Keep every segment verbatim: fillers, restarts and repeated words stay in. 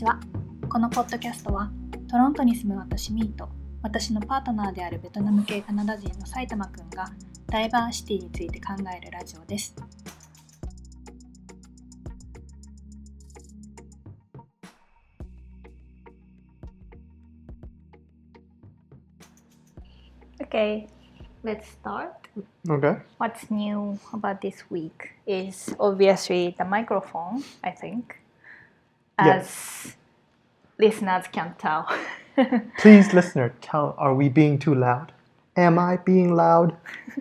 ちは。このポッドキャストはトロントに住む私ミーと私のパートナーであるベトナム系カナダ人の埼玉くんがダイバーシティについて考えるラジオです。Okay, let's start. Okay. What's new about this week is obviously the microphone, I think, as Yes. listeners can tell. Please, listener, tell, are we being too loud? Am I being loud?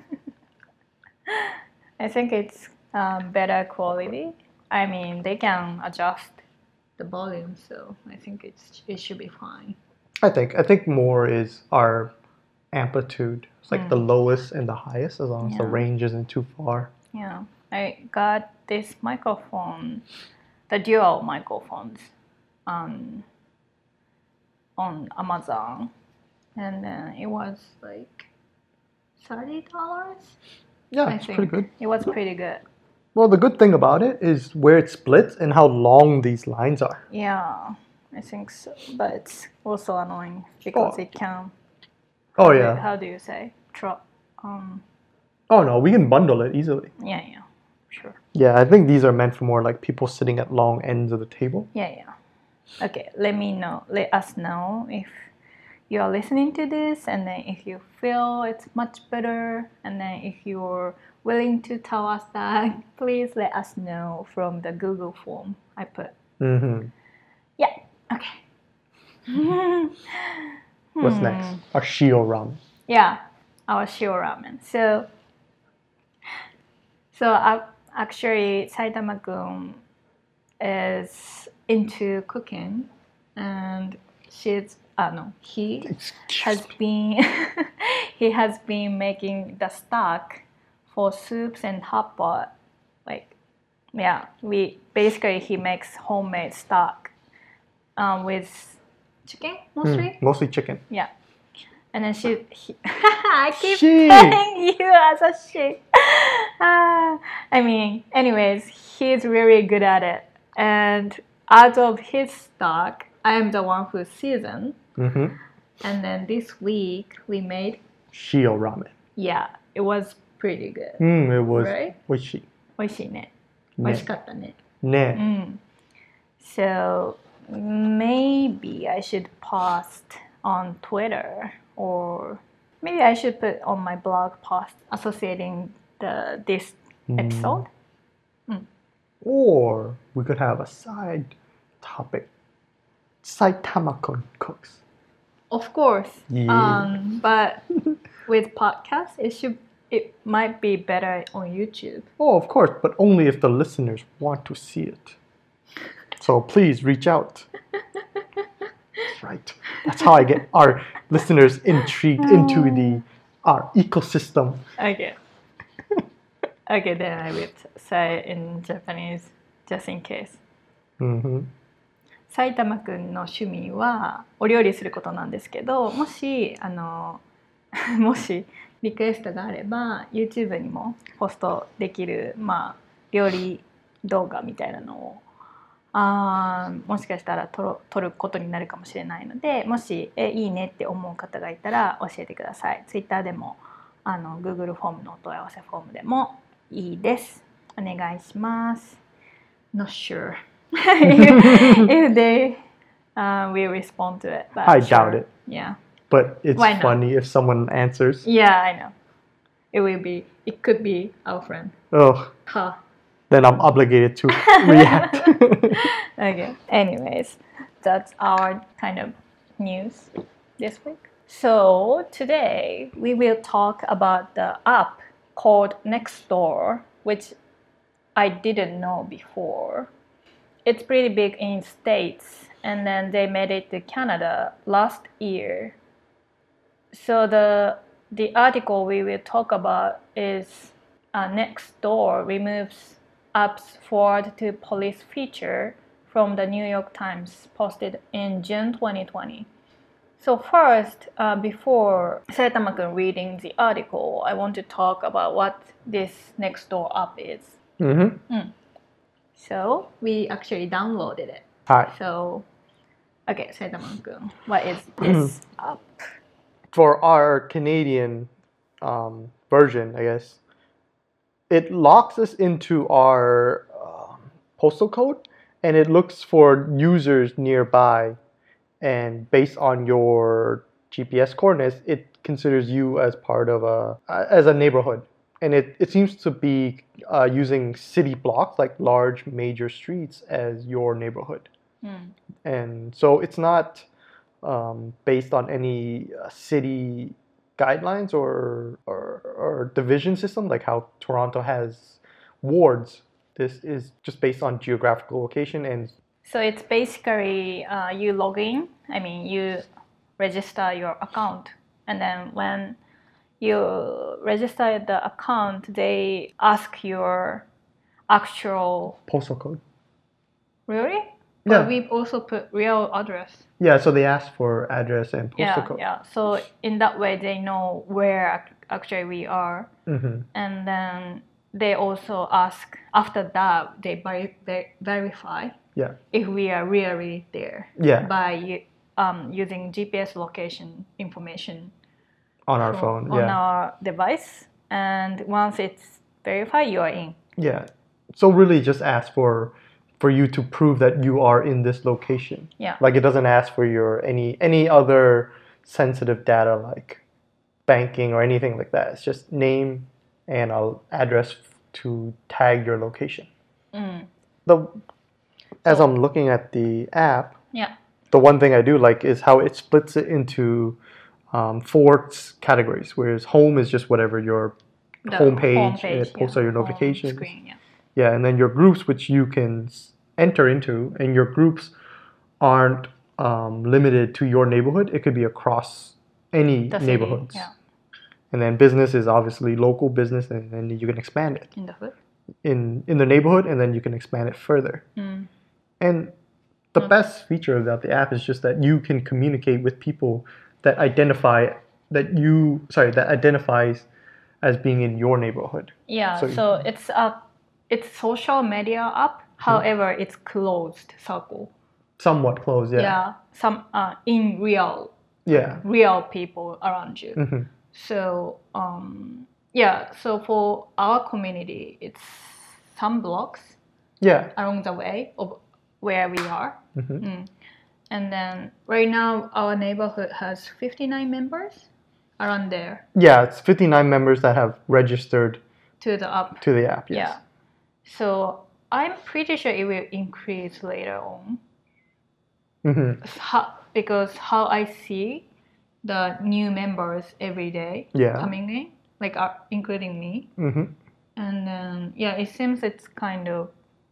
I think it's um, better quality. I mean, they can adjust the volume, so I think it's it should be fine. I think. I think more is our amplitude. It's like the lowest and the highest, as long as the Yeah. range isn't too far. Yeah, I got this microphone, the dual microphones, on on Amazon, and then it was like thirty dollars. Yeah, I it's think pretty good. it was pretty good. Well, the good thing about it is where it splits and how long these lines are. Yeah, I think so, but it's also annoying because Oh. it can. Oh, how do- yeah. How do you say? Tro- um. Oh, no, we can bundle it easily. Yeah, yeah, sure. Yeah, I think these are meant for more like people sitting at long ends of the table. Yeah, yeah. Okay, let me know. Let us know if you are listening to this, and then if you feel it's much better, and then if you're willing to tell us that, please let us know from the Google form I put. Mm-hmm. Yeah. Okay. What's Hmm. next? Our shio ramen. Yeah, our shio ramen. So, so uh, actually, Saitama-kun is into cooking, and she's uh, no, he has been he has been making the stock for soups and hot pot. Like, yeah, we basically he makes homemade stock um, with chicken mostly. Mm, mostly chicken. Yeah. And then she, he, I keep She. telling you as a she. Ah, I mean, anyways, he's really good at it. And out of his stock, I am the one who seasoned. Mm-hmm. And then this week we made, Shio ramen. yeah, it was pretty good. Mm, it was Right? oishi. 美味しいね。 ね。 美味しかったね。 ね。 Mm. So maybe I should post on Twitter, or maybe I should put on my blog post associating the this episode. Or we could have a side topic. Saitama-kun cooks. Of course. Yeah. Um, but with podcasts, it should it might be better on YouTube. Oh, of course, but only if the listeners want to see it. So please reach out. That's right. That's how I get our listeners intrigued into the our ecosystem. Okay. Okay, then I will say it in Japanese just in case. Mm-hmm. 埼玉くんの趣味はお料理することなんですけど、もしあのもしリクエストがあれば YouTube にもポストできる、まあ、料理動画みたいなのをあもしかしたら撮る、撮ることになるかもしれないので、もしえいいねって思う方がいたら教えてください。Twitter でもあの Google フォームのお問い合わせフォームでもいいです。お願いします。Not sure if they uh, will respond to it. But I sure. doubt it. Yeah. But it's Why not? funny if someone answers. Yeah, I know. It will be. It could be our friend. Oh, Huh. then I'm obligated to react. Okay. Anyways, that's our kind of news this week. So today we will talk about the app called Nextdoor, which I didn't know before. It's pretty big in States, and then they made it to Canada last year. So the the article we will talk about is uh, Nextdoor removes apps forward to police feature from the New York Times, posted in June twenty twenty. So first, uh, before Saitama-kun reading the article, I want to talk about what this Nextdoor app is. Mm-hmm. Mm. So we actually downloaded it. Hi. So Okay, Saitama-kun, what is this app? For our Canadian um, version, I guess, it locks us into our um postal code, and it looks for users nearby, and based on your G P S coordinates, it considers you as part of a as a neighborhood, and it, it seems to be uh, using city blocks like large major streets as your neighborhood, Mm. and so it's not um, based on any uh, city guidelines or, or or division system like how Toronto has wards. This is just based on geographical location and So it's basically uh, you log in. I mean, you register your account, and then when you register the account, they ask your actual. postal code. Really? Yeah. But we also put real address. Yeah, so they ask for address and postal Yeah, code. yeah. So in that way, they know where ac- actually we are, Mm-hmm. and then they also ask. After that, they ver- ver- verify Yeah. if we are really there. Yeah. By u- um, using G P S location information On our from- phone. on Yeah. our device, and once it's verified, you are in. Yeah. So really just ask for for you to prove that you are in this location. Yeah. Like it doesn't ask for your any any other sensitive data like banking or anything like that. It's just name and a address to tag your location. Mm. The as I'm looking at the app, Yeah. the one thing I do like is how it splits it into um, four s- categories. Whereas home is just whatever your The homepage, homepage, it posts yeah. all your Home notifications. screen, yeah. Yeah, and then your groups, which you can s- enter into, and your groups aren't um, limited to your neighborhood. It could be across any The city, neighborhoods. yeah. And then business is obviously local business, and then you can expand it In the hood. in in the neighborhood, and then you can expand it further. Mm. And the Mm. best feature about the app is just that you can communicate with people that identify that you sorry that identifies as being in your neighborhood. Yeah, So so, you- it's a it's social media app. However, it's closed circle. Somewhat close, yeah. Yeah, some uh, in real Yeah. real people around you. Mhm. So um, yeah, so for our community, it's some blocks Yeah. along the way of where we are. Mhm. Mm. And then right now, our neighborhood has fifty-nine members around there Yeah, it's fifty-nine members that have registered to the app. to the app. Yes. Yeah. So I'm pretty sure it will increase later on. Mhm. How, because how I see the new members every day Yeah. coming in, like uh, including me. Mhm. And then, yeah, it seems it's kind of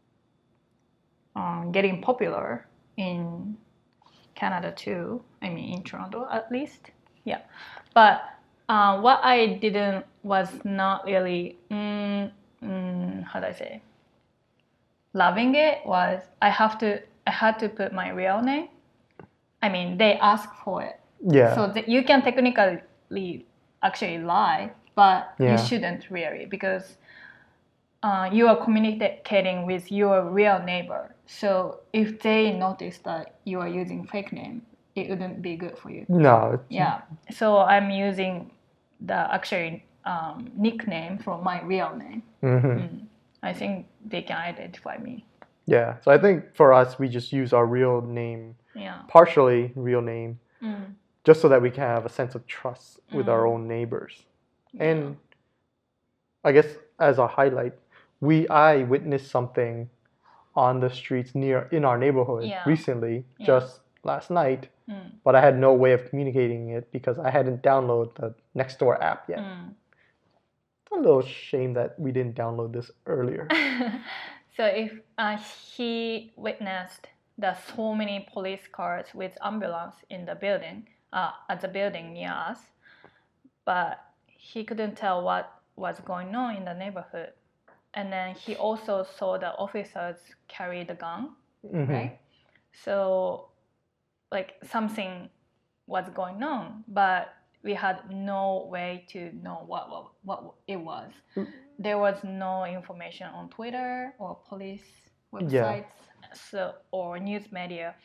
um, getting popular in Canada too. I mean, in Toronto at least. Yeah. But uh, what I didn't was not really, mm, mm, how do I say, loving it was I have to, I had to put my real name. I mean, they ask for it. Yeah. So that you can technically actually lie, but Yeah. you shouldn't really because uh, you are communicating with your real neighbor. So if they notice that you are using fake name, it wouldn't be good for you. no. it's- Yeah. So I'm using the actually um, nickname from my real name. Mhm. Mm. I think they can identify me. Yeah. So I think for us, we just use our real name, Yeah. partially real name, Mm. just so that we can have a sense of trust with our Mm. own neighbors. And I guess as a highlight, we I witnessed something on the streets near in our neighborhood Yeah. recently, Yeah. just last night, Mm. but I had no way of communicating it because I hadn't downloaded the Nextdoor app yet. Mm. It's a little shame that we didn't download this earlier. So if uh, he witnessed the so many police cars with ambulance in the building, uh, at the building near us, but he couldn't tell what was going on in the neighborhood. And then he also saw the officers carry the gun, Mhm. right? So like something was going on, but we had no way to know what what, what it was. There was no information on Twitter or police websites, so or news media.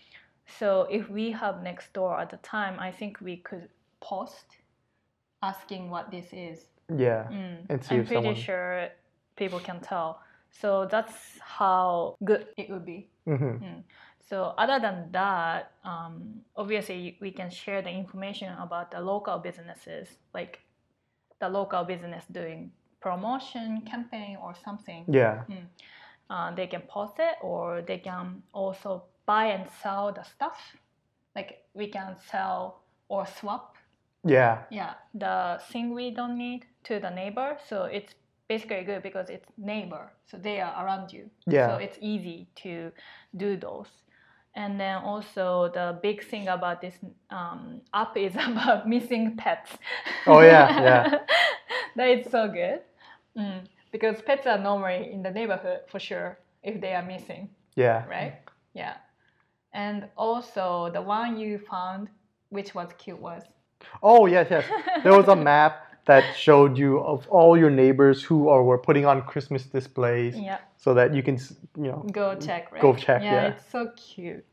So if we have Nextdoor at the time, I think we could post asking what this is. Yeah. Mm. And see I'm if pretty someone. sure people can tell. So that's how good it would be. Mhm. Mm. So other than that, um, obviously we can share the information about the local businesses, like the local business doing promotion campaign or something. Yeah. Mm. Uh, they can post it, or they can also buy and sell the stuff. Like we can sell or swap, Yeah. yeah, the thing we don't need to the neighbor. So it's basically good because it's neighbor, so they are around you. Yeah. So it's easy to do those. And then also the big thing about this um, app is about missing pets. Oh yeah, yeah. That is so good. Mm. Because pets are normally in the neighborhood for sure if they are missing, Yeah. right? Yeah. And also the one you found, which was cute, was Oh yes, yes. There was a map that showed you of all your neighbors who are were putting on Christmas displays, yeah, so that you can s- you know go check, right? go check. Yeah, Yeah. it's so cute.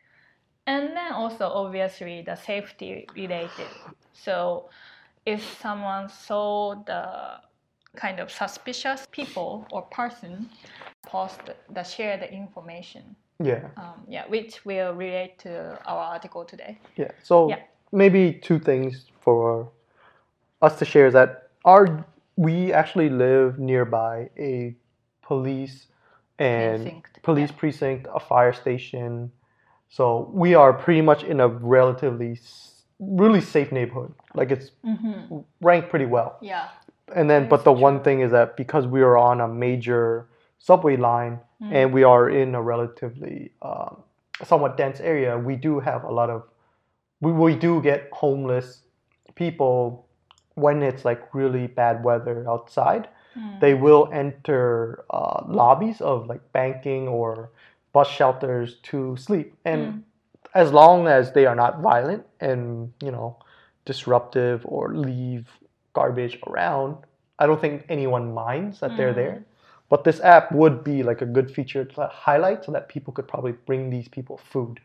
And then also obviously the safety related. So if someone saw the kind of suspicious people or person post the share the information, Yeah. um, yeah, which will relate to our article today. Yeah. So Yeah. maybe two things for us to share is that our we actually live nearby a police and Precinct, police yeah. precinct, a fire station. So we are pretty much in a relatively s- really safe neighborhood. Like it's ranked pretty well. Yeah. And then, That but is the one true. thing is that because we are on a major subway line and we are in a relatively um, somewhat dense area, we do have a lot of we, we do get homeless people when it's like really bad weather outside. They will enter uh, lobbies of like banking or bus shelters to sleep, and as long as they are not violent and you know disruptive or leave garbage around, I don't think anyone minds that they're there. But this app would be like a good feature to highlight so that people could probably bring these people food,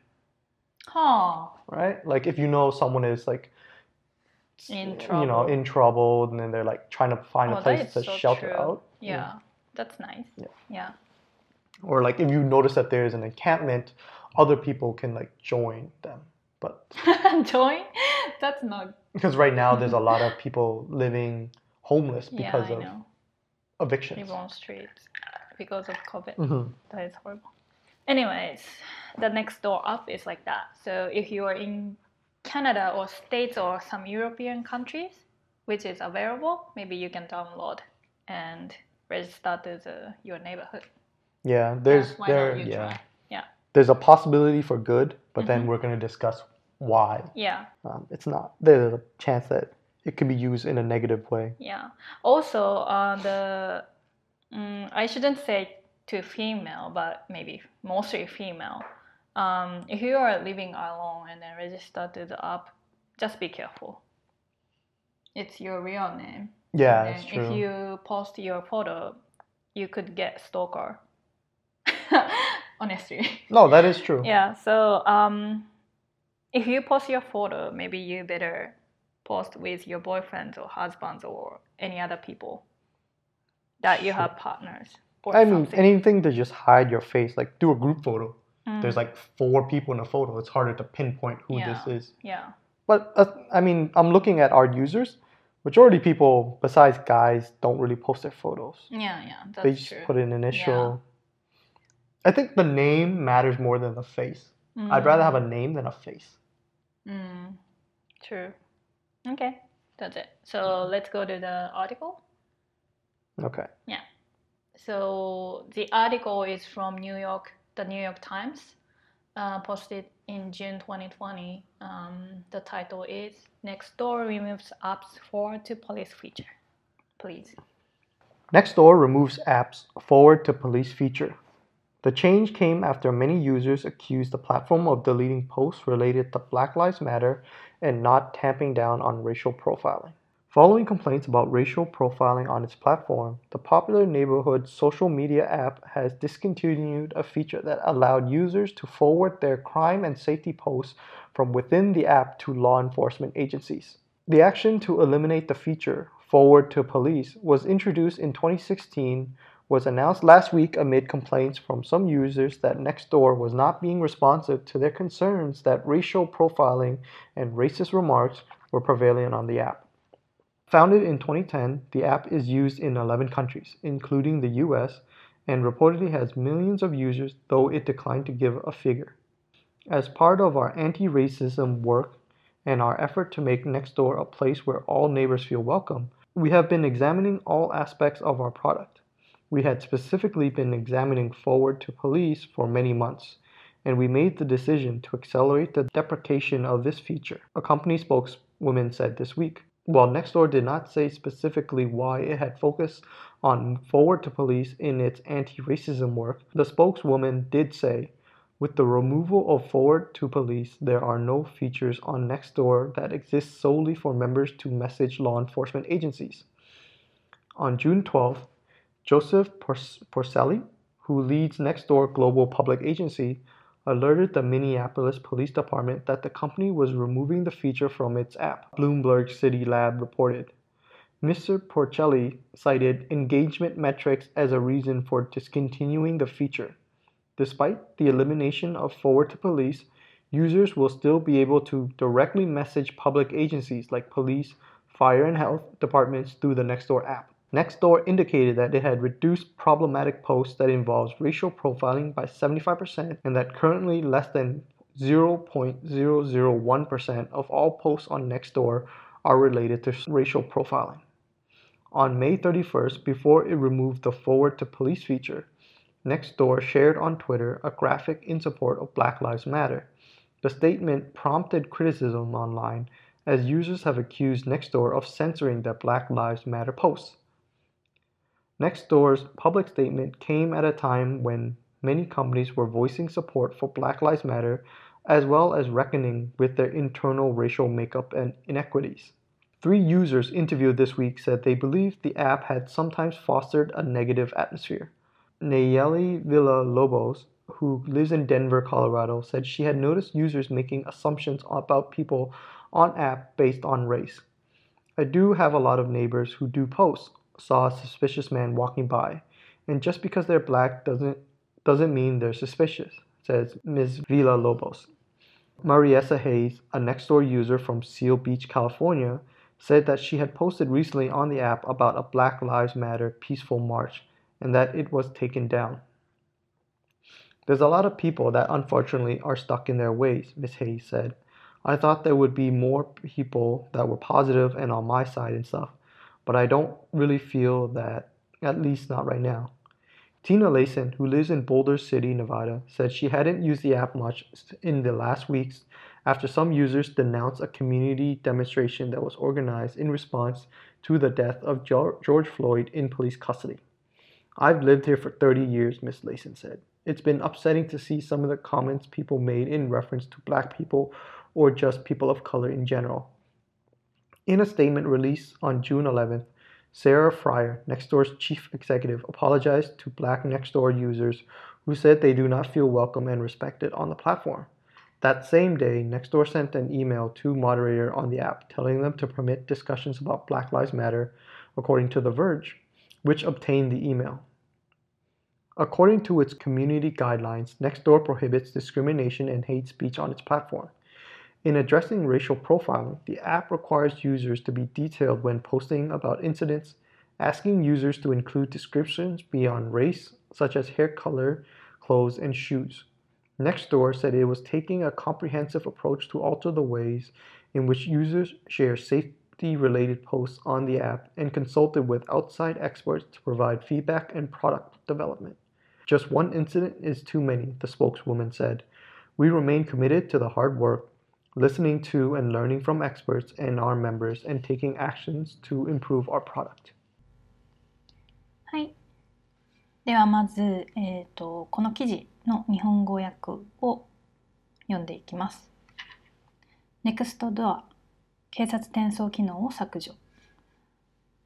Huh. right? Like if you know someone is like In you trouble. know in trouble and then they're like trying to find Oh, a place that is to so shelter true. out. Yeah, that's nice. Yeah. Yeah. Or like if you notice that there's an encampment, other people can like join them. But Join? That's not. because right now there's a lot of people living homeless Yeah, because I of know. evictions. Live on streets because of COVID. Mhm. That is horrible. Anyways, the Nextdoor app is like that. So if you are in Canada or States or some European countries, which is available, maybe you can download and register to the, your neighborhood. Yeah, there's Yeah, why there not you yeah. try? Yeah. There's a possibility for good, but then we're going to discuss why. Yeah. Um, it's not. There's a chance that it can be used in a negative way. Yeah. Also, uh, the mm, I shouldn't say to female, but maybe mostly female. Um, if you are living alone and then register to the app, just be careful. It's your real name. Yeah, And that's then true. if you post your photo, you could get stalker. Honestly. No, that is true. Yeah. So um, if you post your photo, maybe you better post with your boyfriends or husbands or any other people that you have partners or I mean, something. anything to just hide your face, like do a group photo. There's like four people in a photo. It's harder to pinpoint who Yeah. this is. Yeah. But uh, I mean, I'm looking at our users. Majority of people, besides guys, don't really post their photos. Yeah, yeah, that's They just true. put an initial. I think the name matters more than the face. I'd rather have a name than a face. Mm, true. Okay, that's it. So let's go to the article. Okay. Yeah. So the article is from New York, the New York Times, uh, posted in June twenty twenty. Um, the title is Nextdoor removes apps forward to police feature. Please. Nextdoor removes apps forward to police feature. The change came after many users accused the platform of deleting posts related to Black Lives Matter and not tamping down on racial profiling. Following complaints about racial profiling on its platform, the popular neighborhood social media app has discontinued a feature that allowed users to forward their crime and safety posts from within the app to law enforcement agencies. The action to eliminate the feature, Forward to Police, was introduced in twenty sixteen, was announced last week amid complaints from some users that Nextdoor was not being responsive to their concerns that racial profiling and racist remarks were prevalent on the app. Founded in twenty ten, the app is used in eleven countries, including the U S, and reportedly has millions of users, though it declined to give a figure. As part of our anti-racism work and our effort to make Nextdoor a place where all neighbors feel welcome, we have been examining all aspects of our product. We had specifically been examining Forward to Police for many months, and we made the decision to accelerate the deprecation of this feature, a company spokeswoman said this week. While Nextdoor did not say specifically why it had focused on Forward to Police in its anti-racism work, the spokeswoman did say, with the removal of Forward to Police, there are no features on Nextdoor that exist solely for members to message law enforcement agencies. On June twelfth, Joseph Porcelli, who leads Nextdoor Global Public Agency, alerted the Minneapolis Police Department that the company was removing the feature from its app, Bloomberg City Lab reported. Mister Porcelli cited engagement metrics as a reason for discontinuing the feature. Despite the elimination of Forward to Police, users will still be able to directly message public agencies like police, fire and health departments through the Nextdoor app. Nextdoor indicated that it had reduced problematic posts that involves racial profiling by seventy-five percent and that currently less than zero point zero zero one percent of all posts on Nextdoor are related to racial profiling. On May thirty-first, before it removed the Forward to Police feature, Nextdoor shared on Twitter a graphic in support of Black Lives Matter. The statement prompted criticism online as users have accused Nextdoor of censoring the Black Lives Matter posts. Nextdoor's public statement came at a time when many companies were voicing support for Black Lives Matter, as well as reckoning with their internal racial makeup and inequities. Three users interviewed this week said they believed the app had sometimes fostered a negative atmosphere. Nayeli Villalobos, who lives in Denver, Colorado, said she had noticed users making assumptions about people on app based on race. I do have a lot of neighbors who do post, saw a suspicious man walking by, and just because they're black doesn't doesn't mean they're suspicious, says Miz Villalobos. Mariessa Hayes, a Nextdoor user from Seal Beach, California, said that she had posted recently on the app about a Black Lives Matter peaceful march and that it was taken down. There's a lot of people that unfortunately are stuck in their ways, Miz Hayes said. I thought there would be more people that were positive and on my side and stuff, but I don't really feel that, at least not right now. Tina Layson, who lives in Boulder City, Nevada, said she hadn't used the app much in the last weeks after some users denounced a community demonstration that was organized in response to the death of George Floyd in police custody. I've lived here for thirty years, Miz Layson said. It's been upsetting to see some of the comments people made in reference to black people or just people of color in general. In a statement released on June eleventh, Sarah Fryer, Nextdoor's chief executive, apologized to Black Nextdoor users who said they do not feel welcome and respected on the platform. That same day, Nextdoor sent an email to moderator on the app telling them to permit discussions about Black Lives Matter, according to The Verge, which obtained the email. According to its community guidelines, Nextdoor prohibits discrimination and hate speech on its platform. In addressing racial profiling, the app requires users to be detailed when posting about incidents, asking users to include descriptions beyond race, such as hair color, clothes, and shoes. Nextdoor said it was taking a comprehensive approach to alter the ways in which users share safety-related posts on the app and consulted with outside experts to provide feedback and product development. Just one incident is too many, the spokeswoman said. We remain committed to the hard work, listening to and learning from experts and our members, and taking actions to improve our product. はい。ではまず、えーと、この記事の日本語訳を読んでいきます。Nextdoor、警察転送機能を削除。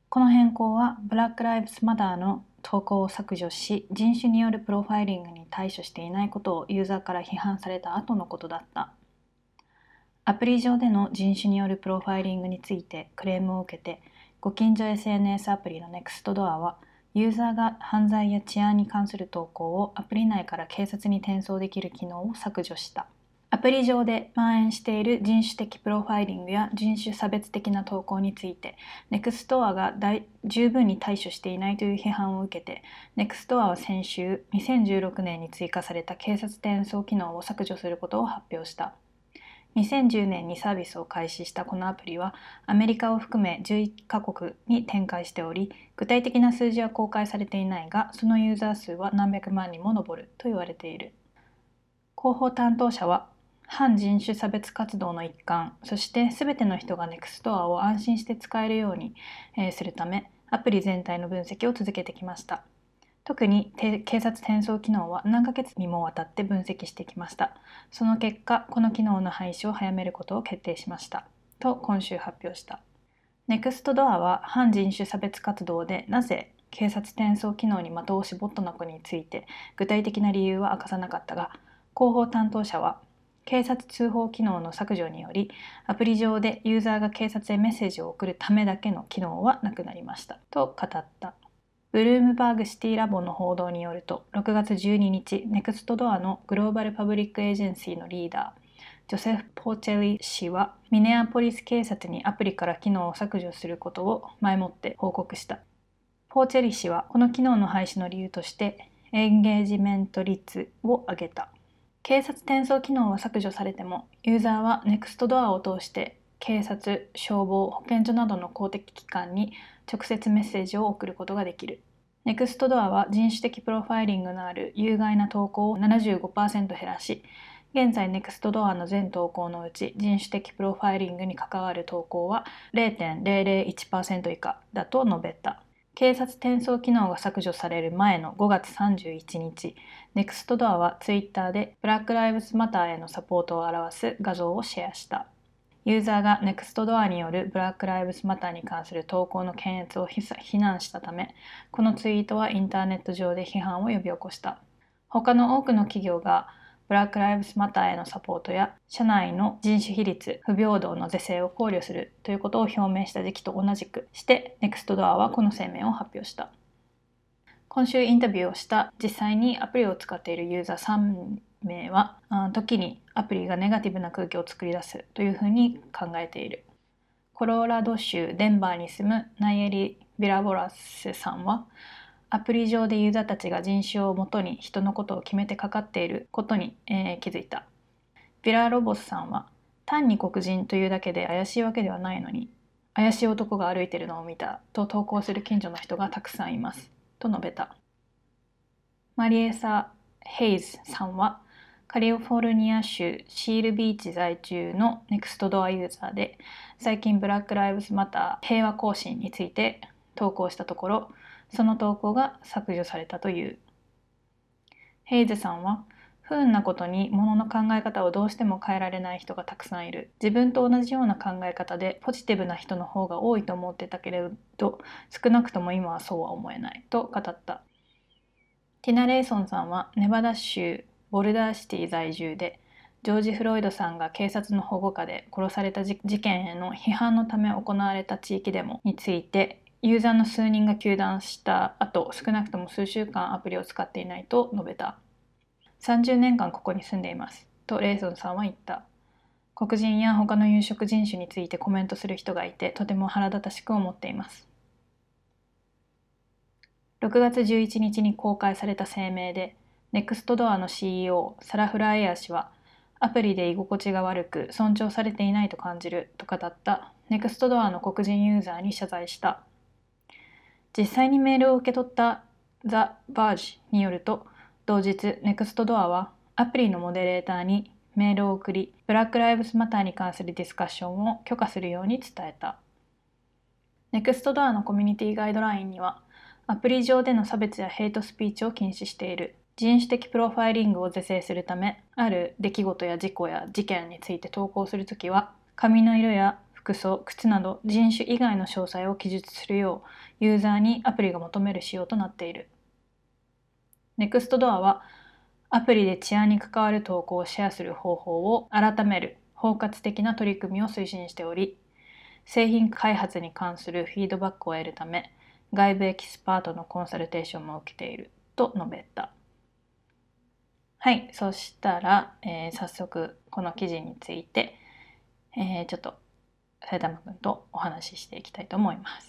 この変更はブラック・ライブズ・マターの投稿を削除し、人種によるプロファイリングに対処していないことをユーザーから批判された後のことだった。アプリ上での人種によるプロファイリングについてクレームを受けて、ご近所 エスエヌエス アプリの Nextdoor は、ユーザーが犯罪や治安に関する投稿をアプリ内から警察に転送できる機能を削除した。アプリ上で蔓延している人種的プロファイリングや人種差別的な投稿について、Nextdoor が十分に対処していないという批判を受けて、Nextdoor は先週、にせんじゅうろくねんに追加された警察転送機能を削除することを発表した。にせんじゅうねんにサービスを開始したこのアプリは、アメリカを含めじゅういっかこくに展開しており、具体的な数字は公開されていないが、そのユーザー数は何百万にも上ると言われている。広報担当者は、反人種差別活動の一環、そして全ての人が Nextdoor を安心して使えるようにするため、アプリ全体の分析を続けてきました。特に警察転送機能は何ヶ月にもわたって分析してきました。その結果、この機能の廃止を早めることを決定しました。と今週発表した。Nextdoor は反人種差別活動でなぜ警察転送機能に的を絞ったのかについて具体的な理由は明かさなかったが、広報担当者は、警察通報機能の削除により、アプリ上でユーザーが警察へメッセージを送るためだけの機能はなくなりましたと語った。ブルームバーグシティラボの報道によると、ろくがつじゅうににち、Nextdoor のグローバルパブリックエージェンシーのリーダー、ジョセフ・ポーチェリ氏は、ミネアポリス警察にアプリから機能を削除することを前もって報告した。ポーチェリ氏は、この機能の廃止の理由として、エンゲージメント率を上げた。警察転送機能は削除されても、ユーザーは Nextdoor を通して警察、消防、保健所などの公的機関に直接メッセージを送ることができる。Nextdoor は人種的プロファイリングのある有害な投稿を ななじゅうごパーセント 減らし、現在 Nextdoor の全投稿のうち人種的プロファイリングに関わる投稿は ゼロてんゼロゼロいちパーセント 以下だと述べた。警察転送機能が削除される前のごがつさんじゅういちにち、Nextdoor は Twitter で Black Lives Matter へのサポートを表す画像をシェアした。ユーザーが Nextdoor による Black Lives Matter に関する投稿の検閲を非難したため、このツイートはインターネット上で批判を呼び起こした。他の多くの企業がブラック・ライブズ・マターへのサポートや社内の人種比率、不平等の是正を考慮するということを表明した時期と同じくして、Nextdoor はこの声明を発表した。今週インタビューをした実際にアプリを使っているユーザーさんめいは、時にアプリがネガティブな空気を作り出すというふうに考えている。コロラド州デンバーに住むナイエリ・ビラボラスさんは、アプリ上でユーザーたちが人種をもとに人のことを決めてかかっていることに、えー、気づいた。ビラロボスさんは、単に黒人というだけで怪しいわけではないのに、怪しい男が歩いているのを見たと投稿する近所の人がたくさんいますと述べた。マリエサ・ヘイズさんは、カリフォルニア州シールビーチ在住の Nextdoor ユーザーで、最近ブラック・ライブズ・マター平和行進について投稿したところ、その投稿が削除されたという。ヘイズさんは、不運なことに物の考え方をどうしても変えられない人がたくさんいる。自分と同じような考え方でポジティブな人の方が多いと思ってたけれど、少なくとも今はそうは思えないと語った。ティナ・レイソンさんはネバダ州ボルダーシティ在住で、ジョージ・フロイドさんが警察の保護下で殺された事件への批判のため行われた地域デモについて、ユーザーの数人が糾弾した後、少なくとも数週間アプリを使っていないと述べた。さんじゅうねんかんここに住んでいますとレイソンさんは言った。黒人や他の有色人種についてコメントする人がいて、とても腹立たしく思っています。ろくがつじゅういちにちに公開された声明で、Nextdoor の シーイーオー サラ・フライヤー氏は、アプリで居心地が悪く尊重されていないと感じると語った Nextdoor の黒人ユーザーに謝罪した。実際にメールを受け取った The Verge によると、同日 Nextdoor はアプリのモデレーターにメールを送り、ブラック・ライブズ・マターに関するディスカッションを許可するように伝えた。Nextdoor のコミュニティガイドラインには、アプリ上での差別やヘイトスピーチを禁止している。人種的プロファイリングを是正するため、ある出来事や事故や事件について投稿するときは、髪の色や服装、靴など人種以外の詳細を記述するようユーザーにアプリが求める仕様となっている。Nextdoor はアプリで治安に関わる投稿をシェアする方法を改める包括的な取り組みを推進しており、製品開発に関するフィードバックを得るため、外部エキスパートのコンサルテーションも受けていると述べた。はい、そしたら、えー、早速この記事について、えー、ちょっと埼玉くんとお話ししていきたいと思います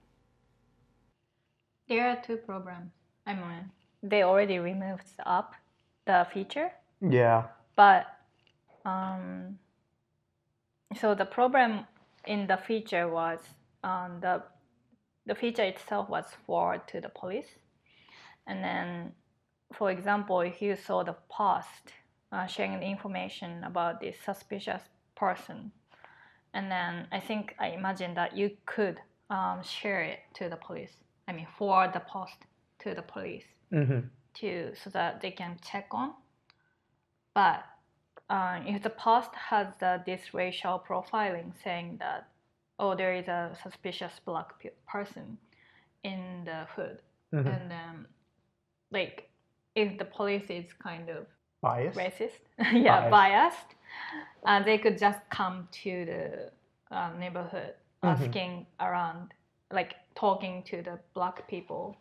。There are two programs. I mean, they already removed the app, the feature. Yeah. But um, so the problem in the feature was um, the the feature itself was forwarded to the police, and then, for example, if you saw the post uh, sharing the information about this suspicious person, and then I think I imagine that you could um, share it to the police. I mean, forward the post to the police Mm-hmm. to so that they can check on. But uh, if the post has the, this racial profiling saying that, oh, there is a suspicious black pe- person in the hood, Mm-hmm. and then like if the police is kind of Biased. racist, yeah, Biased. biased, and they could just come to the uh, neighborhood Mm-hmm. asking around, like talking to the black people,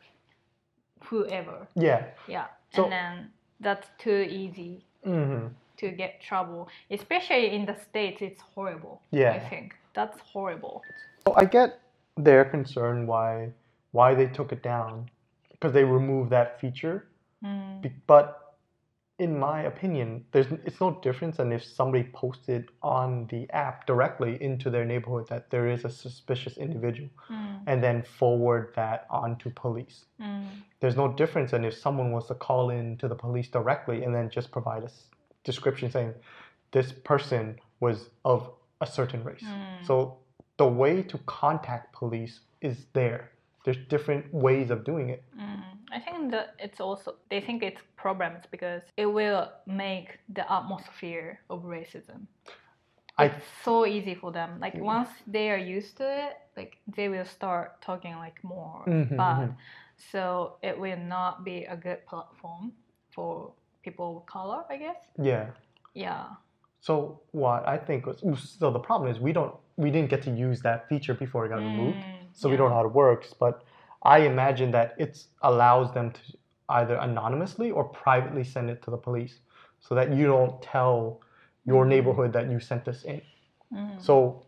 whoever. Yeah. Yeah, So- and then that's too easy Mm-hmm. to get trouble, especially in the States. It's horrible. Yeah. I think that's horrible. So I get their concern why why they took it down because they removed that feature. Mm. Be- But in my opinion, there's it's no difference than if somebody posted on the app directly into their neighborhood that there is a suspicious individual, Mm. and then forward that on to police. Mm. There's no difference than if someone was to call in to the police directly and then just provide a s- description saying this person was of a certain race. Mm. So the way to contact police is there. There's different ways of doing it. Mm. I think that it's also they think it's problems because it will make the atmosphere of racism. I It's so easy for them. Like once they are used to it, like they will start talking like more Mhm, bad. mhm. So it will not be a good platform for people of color, I guess. yeah. Yeah. So what I think was so the problem is we don't we didn't get to use that feature before it got removed, Mm, so we don't know yeah. how it works. But I imagine that it allows them to either anonymously or privately send it to the police, so that you don't tell your neighborhood that you sent this in. Mm. So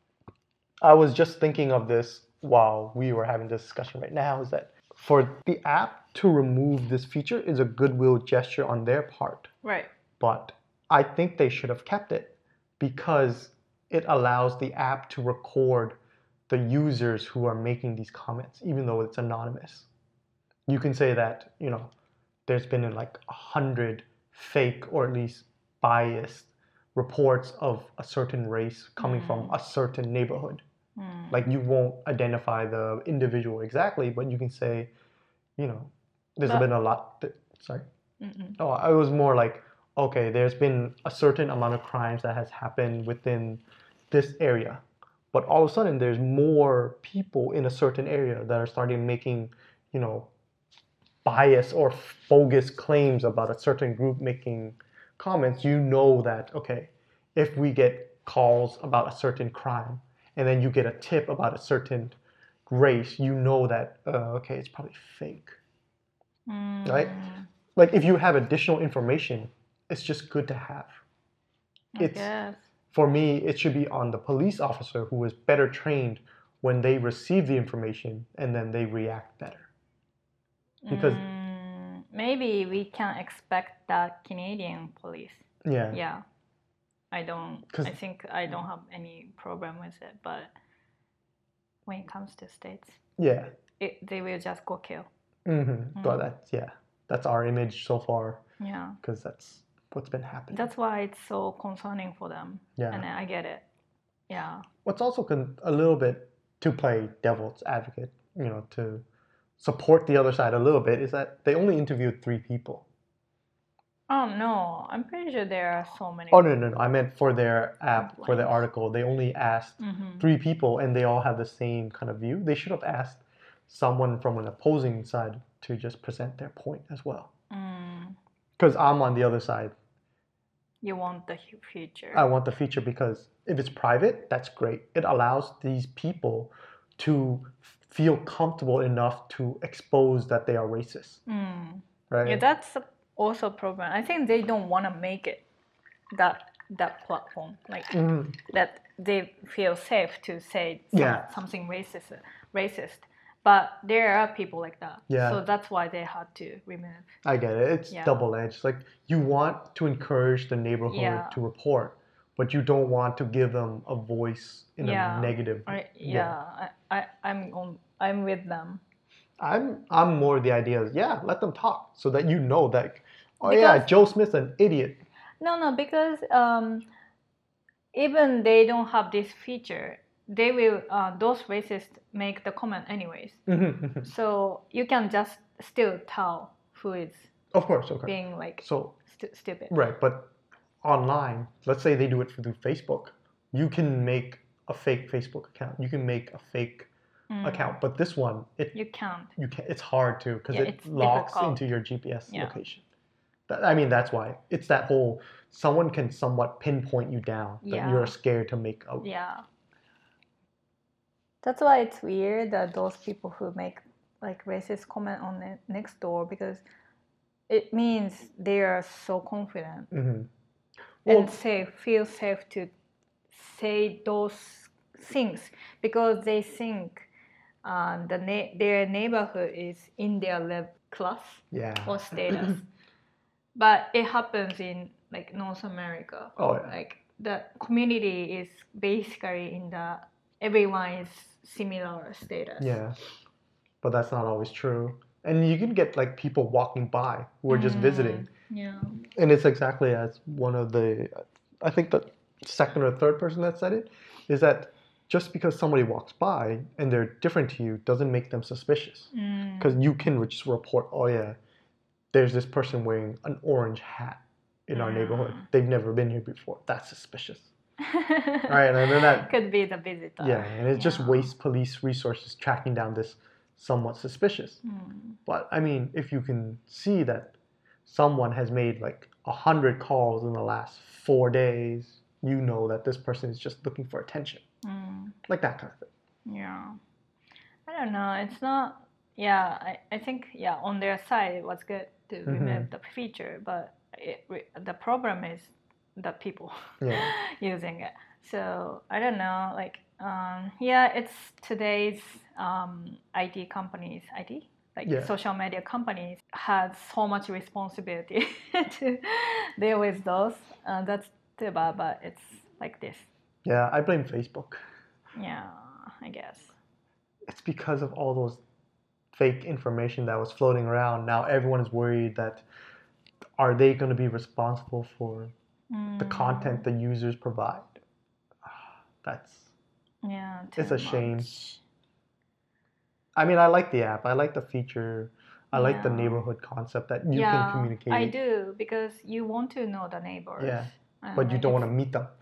I was just thinking of this while we were having this discussion right now. Is that for the app to remove this feature is a goodwill gesture on their part. Right. But I think they should have kept it because it allows the app to record the users who are making these comments, even though it's anonymous. You can say that, you know, there's been like a hundred fake or at least biased reports of a certain race coming from a certain neighborhood. Mm. Like you won't identify the individual exactly, but you can say, you know, there's But- been a lot. Th- sorry. Mm-mm. Oh, I was more like, okay, there's been a certain amount of crimes that has happened within this area, but all of a sudden there's more people in a certain area that are starting making, you know, bias or bogus claims about a certain group making comments. You know that okay, if we get calls about a certain crime and then you get a tip about a certain race, you know that uh, okay, it's probably fake, Mm. right? Like if you have additional information, it's just good to have. I It's guess. for me, it should be on the police officer who is better trained when they receive the information and then they react better. Because Mm, maybe we can expect that Canadian police. yeah, Yeah. I don't 'Cause- I think I don't have any problem with it, but when it comes to states, yeah, it, they will just go kill. hmm but that's yeah, that's our image so far Yeah. because that's what's been happening. That's why it's so concerning for them. Yeah. And I get it. Yeah. What's also con- a little bit to play devil's advocate, you know, to support the other side a little bit is that they only interviewed three people. Oh no, I'm pretty sure there are so many. Oh, no, no, no. I meant for their app, for the Complaints. article, they only asked Mhm. three people and they all have the same kind of view. They should have asked someone from an opposing side to just present their point as well. Mm, Because I'm on the other side. you want the hu- future. I want the feature because if it's private, that's great. It allows these people to feel comfortable enough to expose that they are racist, Mm. right? Yeah, that's a- also a problem. I think they don't want to make it that that platform like Mhm. that they feel safe to say some, Yeah. something racist, racist. But there are people like that. Yeah. So that's why they had to remove. I get it. It's Yeah. double-edged. Like you want to encourage the neighborhood Yeah. to report, but you don't want to give them a voice in Yeah. a negative. I, yeah, I, I, I'm on. I'm with them. I'm I'm more the idea is yeah, let them talk so that you know that oh yeah, Because- Joe Smith's an idiot. No, no, because um, even they don't have this feature, they will uh, those racists make the comment anyways. So you can just still tell who is Of course, okay. being like So stu- stupid. right, but online, let's say they do it through Facebook, you can make a fake Facebook account. You can make a fake Mm. account, but this one, it You can't. you can it's hard to because Yeah, it it's locks difficult. into your G P S Yeah. location. That, I mean, that's why it's that whole someone can somewhat pinpoint you down that Yeah. you're scared to make a Yeah. That's why it's weird that those people who make like racist comment on the next door because it means they are so confident Mhm. Well, and safe, feel safe to say those things because they think um, the na- their neighborhood is in their level class yeah. or status. But it happens in like North America. Oh yeah. Like the community is basically in the everyone is similar status. Yeah. But that's not always true. And you can get like people walking by who are just Mm, visiting. Yeah. And it's exactly as one of the, I think the second or third person that said it, is that just because somebody walks by and they're different to you doesn't make them suspicious. Mm. Because you can just report, oh yeah, there's this person wearing an orange hat in our neighborhood. Mm. They've never been here before. That's suspicious. Right, and then that could be the visitor. yeah, and it just Yeah. wastes police resources tracking down this somewhat suspicious. Mm. But I mean, if you can see that someone has made like a hundred calls in the last four days, you know that this person is just looking for attention, Mm. like that kind of thing. Yeah. I don't know. It's not. Yeah, I, I think yeah on their side it was good to Mm-hmm. remove the feature, but it, the problem is the people Yeah. using it. So I don't know. Like um, yeah, it's today's um, I T companies. I T like Yeah. social media companies had so much responsibility to deal with those. Uh, that's too bad, but it's like this. Yeah, I blame Facebook. Yeah, I guess. It's because of all those fake information that was floating around. Now everyone is worried that are they going to be responsible for the content the users provide? That's Yeah, it's too a shame. much. I mean, I like the app. I like the feature. I like the Yeah. neighborhood concept that you yeah, can communicate. I do because you want to know the neighbors. Yeah, And but you like don't want to it's- meet them.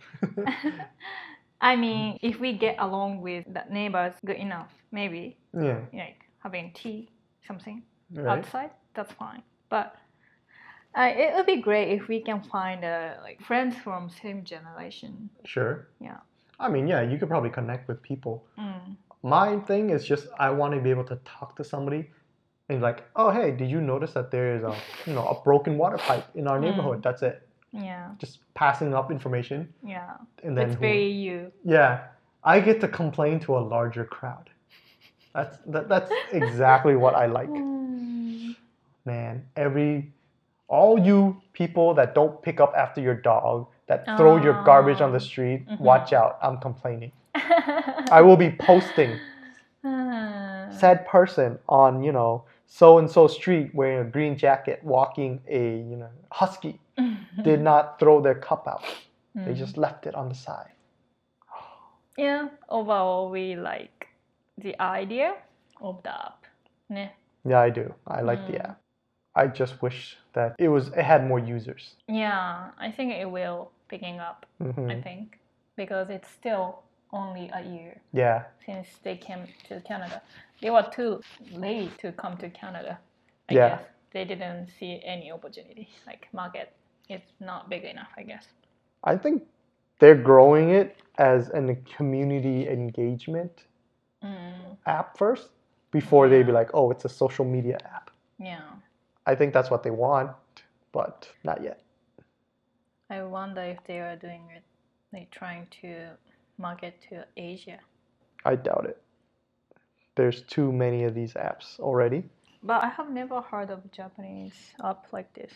I mean, if we get along with the neighbors good enough, maybe Yeah, like having tea, something right. outside, that's fine. But uh, it would be great if we can find uh, like friends from same generation. Sure. Yeah. I mean, yeah, you could probably connect with people. Mm. My thing is just I want to be able to talk to somebody and like, oh hey, did you notice that there is a you know a broken water pipe in our Mm. neighborhood? That's it. Yeah. Just passing up information, Yeah. and then It's who- very you. yeah, I get to complain to a larger crowd. That's that, that's exactly what I like. Mm. Man, every all you people that don't pick up after your dog, that throw your garbage on the street, Mhm. watch out. I'm complaining. I will be posting Ah. said person on, you know, so and so street wearing a green jacket walking a, you know, husky did not throw their cup out. They just left it on the side. Yeah, overall we like the idea of the app. Ne? Yeah, I do. I like the Mm. app. I just wish that it was it had more users. Yeah, I think it will picking up. Mm-hmm. I think because it's still only a year Yeah. since they came to Canada. They were too late to come to Canada. I Yeah. guess they didn't see any opportunity. Like market, it's not big enough. I guess. I think they're growing it as a community engagement Mm, app first before they be Yeah. like, oh, it's a social media app. yeah. I think that's what they want, but not yet. I wonder if they are doing it, like trying to market to Asia. I doubt it. There's too many of these apps already. But I have never heard of Japanese app like this.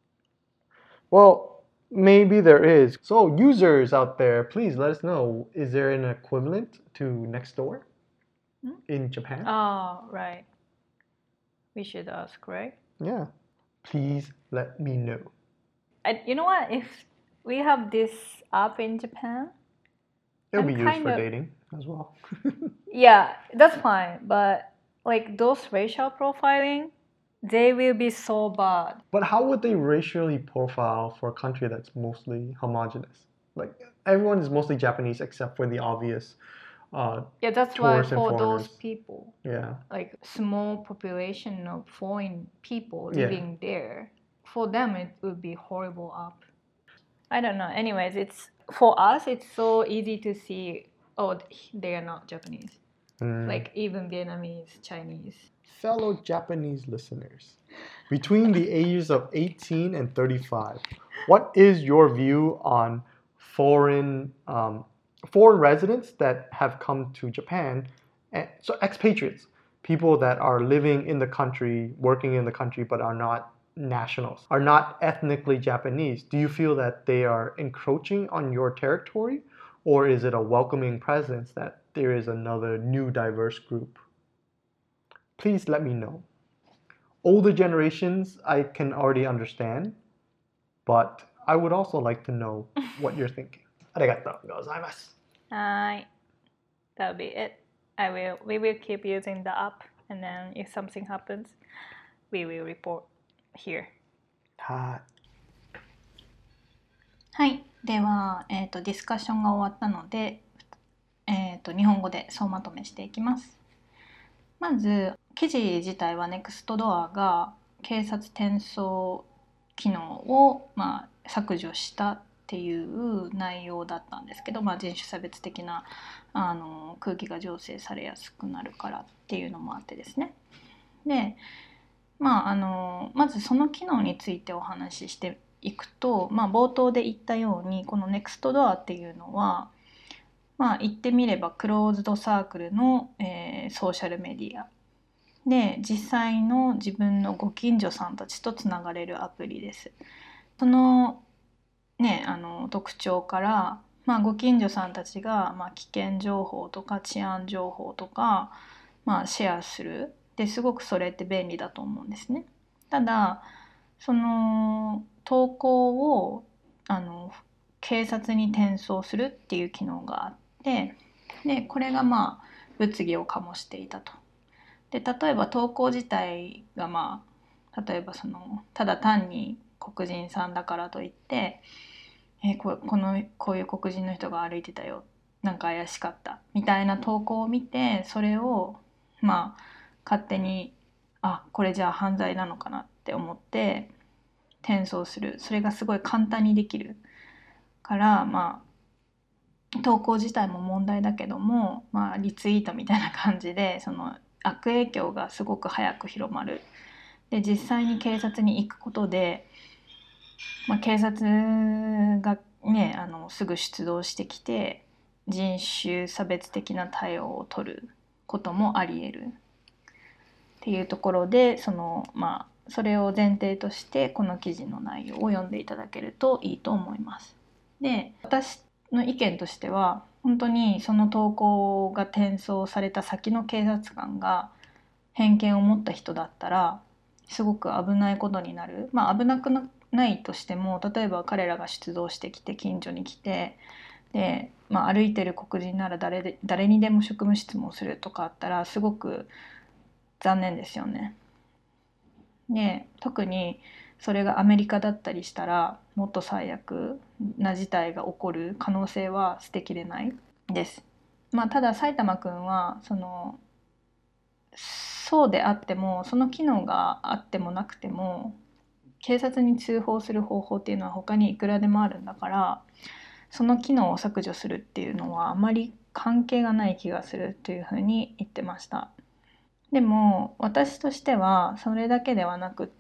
Well, maybe there is. So, users out there, please let us know. Is there an equivalent to Nextdoor Hmm? in Japan? Oh, right. We should ask, right? Yeah. Please let me know. And you know what? If we have this app in Japan, It'll I'm be used kind for of- dating as well. yeah, that's fine. But like those racial profiling, they will be so bad. But how would they racially profile for a country that's mostly homogenous? Like everyone is mostly Japanese except for the obvious. Uh, Yeah, that's why Tourists and for those foreigners. people, yeah. like small population of foreign people Yeah. living there, for them it would be horrible app. I don't know. Anyways, it's for us. It's so easy to see. Oh, they are not Japanese. Mm. Like even Vietnamese, Chinese. Fellow Japanese listeners, between the ages of eighteen and thirty-five, what is your view on foreign um, foreign residents that have come to Japan? And, so expatriates, people that are living in the country, working in the country, but are not nationals, are not ethnically Japanese. Do you feel that they are encroaching on your territory, or is it a welcoming presence that there is another new diverse group? Please let me know. Older generations, I can already understand, but I would also like to know what you're thinking. ありがとうございます。 Hi, that'll be it. I will. We will keep using the app, and then if something happens, we will report here. ははい。では、えっとディスカッションが終わったので、えっと日本語で総まとめしていきます。まず記事自体は Nextdoor が警察転送機能を、まあ、削除したっていう内容だったんですけど、まあ、人種差別的なあの空気が醸成されやすくなるからっていうのもあってですね。で、まあ、あのまずその機能についてお話ししていくと、まあ、冒頭で言ったようにこの Nextdoor っていうのは、まあ、言ってみればクローズドサークルの、えー、ソーシャルメディアで実際の自分のご近所さんたちとつながれるアプリです。そのね、あの特徴から、まあ、ご近所さんたちが、まあ、危険情報とか治安情報とか、まあ、シェアするですごくそれって便利だと思うんですね。ただその投稿をあの警察に転送するっていう機能があってでこれがまあ物議を醸していたと。で例えば投稿自体がまあ例えばそのただ単に黒人さんだからといってえここのこういう黒人の人が歩いてたよなんか怪しかったみたいな投稿を見てそれをまあ勝手にあこれじゃあ犯罪なのかなって思って転送するそれがすごい簡単にできるからまあ投稿自体も問題だけども、まあ、リツイートみたいな感じでその悪影響がすごく早く広まる。で実際に警察に行くことで、まあ、警察がねあのすぐ出動してきて人種差別的な対応を取ることもあり得るっていうところでそのまあそれを前提としてこの記事の内容を読んでいただけるといいと思います。で私の意見としては本当にその投稿が転送された先の警察官が偏見を持った人だったらすごく危ないことになる。まあ危なくないとしても例えば彼らが出動してきて近所に来てで、まあ、歩いてる黒人なら 誰で誰にでも職務質問するとかあったらすごく残念ですよね。 ね、特にそれがアメリカだったりしたらもっと最悪な事態が起こる可能性は捨てきれないです。まあ、ただ埼玉くんはそのそうであってもその機能があってもなくても警察に通報する方法っていうのは他にいくらでもあるんだから、その機能を削除するっていうのはあまり関係がない気がするというふうに言ってました。でも私としてはそれだけではなくって、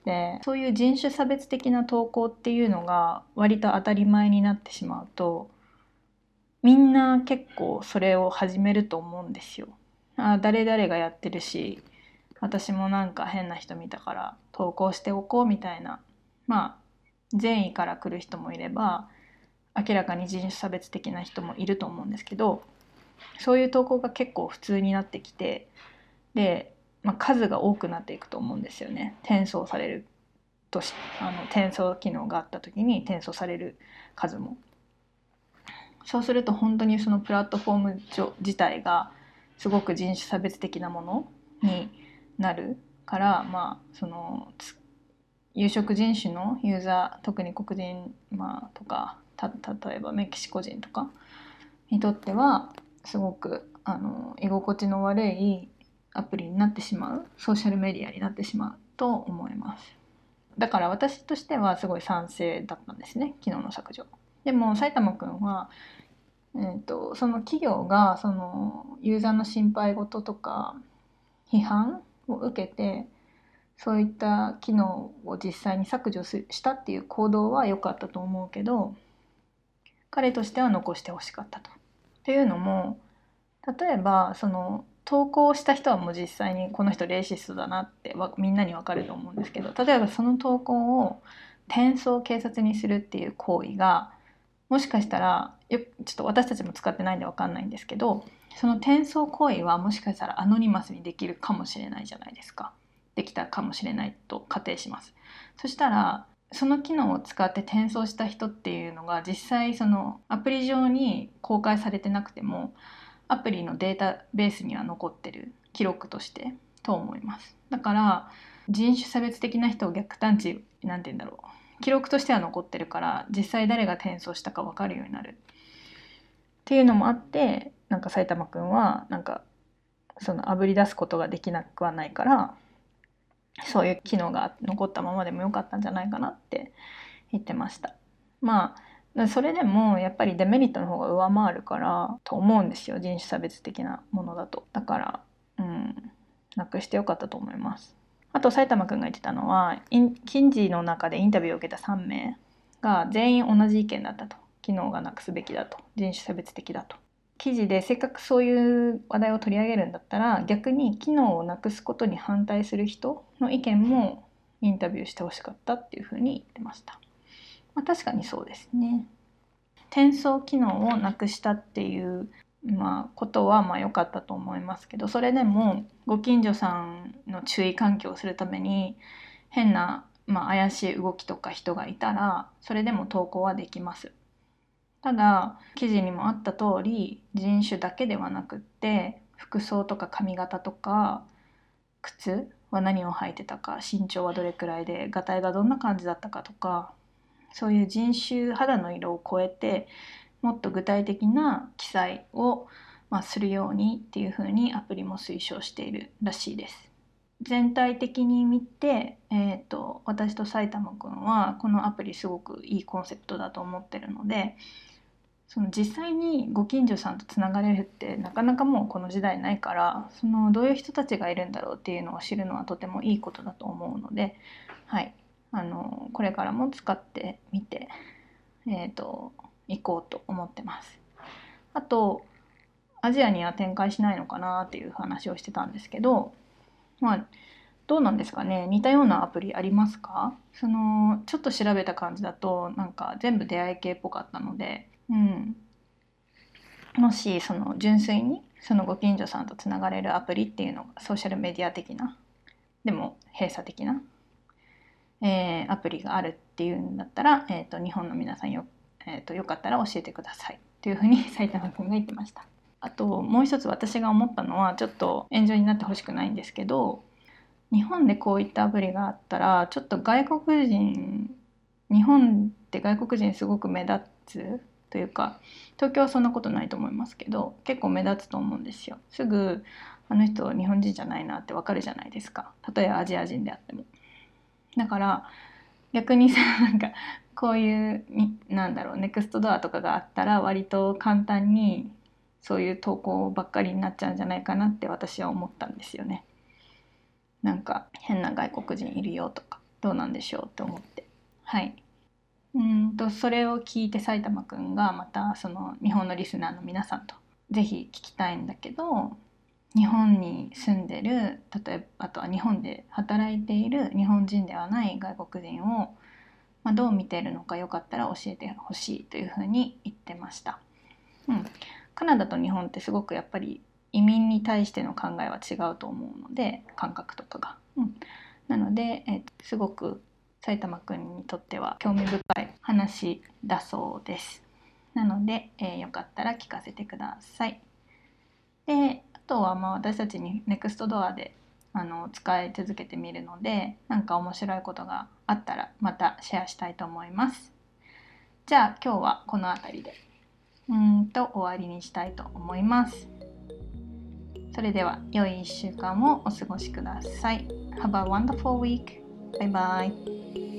そういう人種差別的な投稿っていうのが割と当たり前になってしまうと、みんな結構それを始めると思うんですよ。あ、誰々がやってるし私もなんか変な人見たから投稿しておこうみたいな、まあ善意から来る人もいれば明らかに人種差別的な人もいると思うんですけど、そういう投稿が結構普通になってきて、で、まあ、数が多くなっていくと思うんですよね。転送されるとしあの転送機能があった時に転送される数も、そうすると本当にそのプラットフォーム上自体がすごく人種差別的なものになるから、まあその有色人種のユーザー、特に黒人、まあ、とかた例えばメキシコ人とかにとってはすごくあの居心地の悪いアプリになってしまう、ソーシャルメディアになってしまうと思います。だから私としてはすごい賛成だったんですね、機能の削除。でも埼玉くんは、えーと、その企業がそのユーザーの心配事とか批判を受けてそういった機能を実際に削除したっていう行動は良かったと思うけど、彼としては残してほしかったと。っていうのも、例えばその投稿した人はもう実際にこの人レイシストだなってみんなに分かると思うんですけど、例えばその投稿を転送警察にするっていう行為がもしかしたらよちょっと私たちも使ってないんで分かんないんですけど、その転送行為はもしかしたらアノニマスにできるかもしれないじゃないですか。できたかもしれないと仮定します。そしたらその機能を使って転送した人っていうのが実際そのアプリ上に公開されてなくてもアプリのデータベースには残ってる記録としてと思います。だから人種差別的な人を逆探知なんて言うんだろう、記録としては残ってるから実際誰が転送したか分かるようになるっていうのもあって、なんか埼玉くんはなんかそのあぶり出すことができなくはないから、そういう機能が残ったままでもよかったんじゃないかなって言ってました。まあそれでもやっぱりデメリットの方が上回るからと思うんですよ、人種差別的なものだと。だからうんなくしてよかったと思います。あと埼玉くんが言ってたのは、記事の中でインタビューを受けたさんめいが全員同じ意見だったと。機能がなくすべきだと、人種差別的だと。記事でせっかくそういう話題を取り上げるんだったら逆に機能をなくすことに反対する人の意見もインタビューしてほしかったっていうふうに言ってました。まあ、確かにそうですね。転送機能をなくしたっていうまあ、ことはまあ良かったと思いますけど、それでもご近所さんの注意喚起をするために変な、まあ、怪しい動きとか人がいたらそれでも投稿はできます。ただ記事にもあった通り人種だけではなくって服装とか髪型とか靴は何を履いてたか、身長はどれくらいでガタイがどんな感じだったかとか、そういう人種肌の色を超えてもっと具体的な記載を、まあ、するようにっていうふうにアプリも推奨しているらしいです。全体的に見て、えーと、私と埼玉くんはこのアプリすごくいいコンセプトだと思ってるので、その実際にご近所さんとつながれるってなかなかもうこの時代ないから、そのどういう人たちがいるんだろうっていうのを知るのはとてもいいことだと思うので、はい、あのこれからも使ってみて、えーと行こうと思ってます。あとアジアには展開しないのかなっていう話をしてたんですけど、まあどうなんですかね、似たようなアプリありますか？そのちょっと調べた感じだとなんか全部出会い系っぽかったので、うん、もしその純粋にそのご近所さんとつながれるアプリっていうのがソーシャルメディア的なでも閉鎖的な、えー、アプリがあるっていうんだったら、えーと、日本の皆さんよ、えーと、よかったら教えてくださいというふうに埼玉くんが言ってました。あともう一つ私が思ったのは、ちょっと炎上になってほしくないんですけど、 日本でこういったアプリがあったらちょっと外国人日本って外国人すごく目立つというか、東京はそんなことないと思いますけど結構目立つと思うんですよ。すぐあの人日本人じゃないなってわかるじゃないですか、例えばアジア人であっても。だから逆にさ、なんかこういうなんだろうネクストドアとかがあったら割と簡単にそういう投稿ばっかりになっちゃうんじゃないかなって私は思ったんですよね。なんか変な外国人いるよとかどうなんでしょうって思って、はい。うんとそれを聞いて埼玉くんがまたその日本のリスナーの皆さんとぜひ聞きたいんだけど、日本に住んでる、例えばあとは日本で働いている日本人ではない外国人を、まあ、どう見ているのかよかったら教えてほしいというふうに言ってました。うん、カナダと日本ってすごくやっぱり移民に対しての考えは違うと思うので、感覚とかが、うん、なので、えすごく埼玉くんにとっては興味深い話だそうです。なので、えー、よかったら聞かせてください。で、あとはまあ私たちにネクストドアであの使い続けてみるので、なんか面白いことがあったらまたシェアしたいと思います。じゃあ今日はこの辺りでうーんと終わりにしたいと思います。それでは良いいっしゅうかんをお過ごしください。Have a wonderful week. Bye bye.